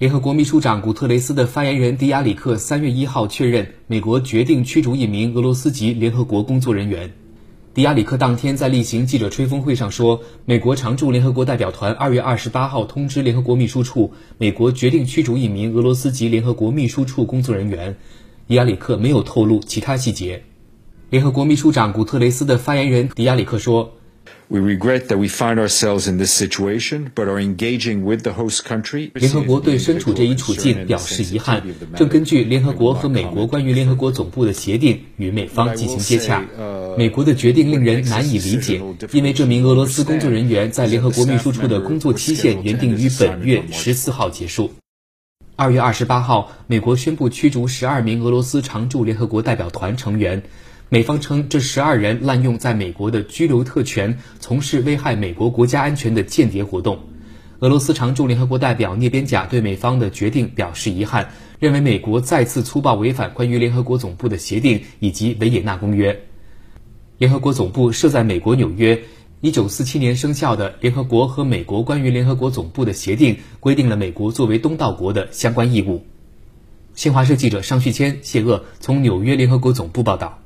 联合国秘书长古特雷斯的发言人迪亚里克3月1号确认，美国决定驱逐一名俄罗斯籍联合国工作人员。迪亚里克当天在例行记者吹风会上说，美国常驻联合国代表团2月28号通知联合国秘书处，美国决定驱逐一名俄罗斯籍联合国秘书处工作人员。迪亚里克没有透露其他细节。联合国秘书长古特雷斯的发言人迪亚里克说， We regret that we find ourselves in this situation, but are engaging with the host country. 联合国对身处这一处境表示遗憾，正根据联合国和美国关于联合国总部的协定与美方进行接洽。美国的决定令人难以理解，因为这名俄罗斯工作人员在联合国秘书处的工作期限原定于本月14号结束。2月28号，美国宣布驱逐12名俄罗斯常驻联合国代表团成员。美方称这12人滥用在美国的居留特权，从事危害美国国家安全的间谍活动。俄罗斯常驻联合国代表聂边贾对美方的决定表示遗憾，认为美国再次粗暴违反关于联合国总部的协定以及维也纳公约。联合国总部设在美国纽约，1947年生效的联合国和美国关于联合国总部的协定规定了美国作为东道国的相关义务。新华社记者尚旭谦、谢鄂从纽约联合国总部报道。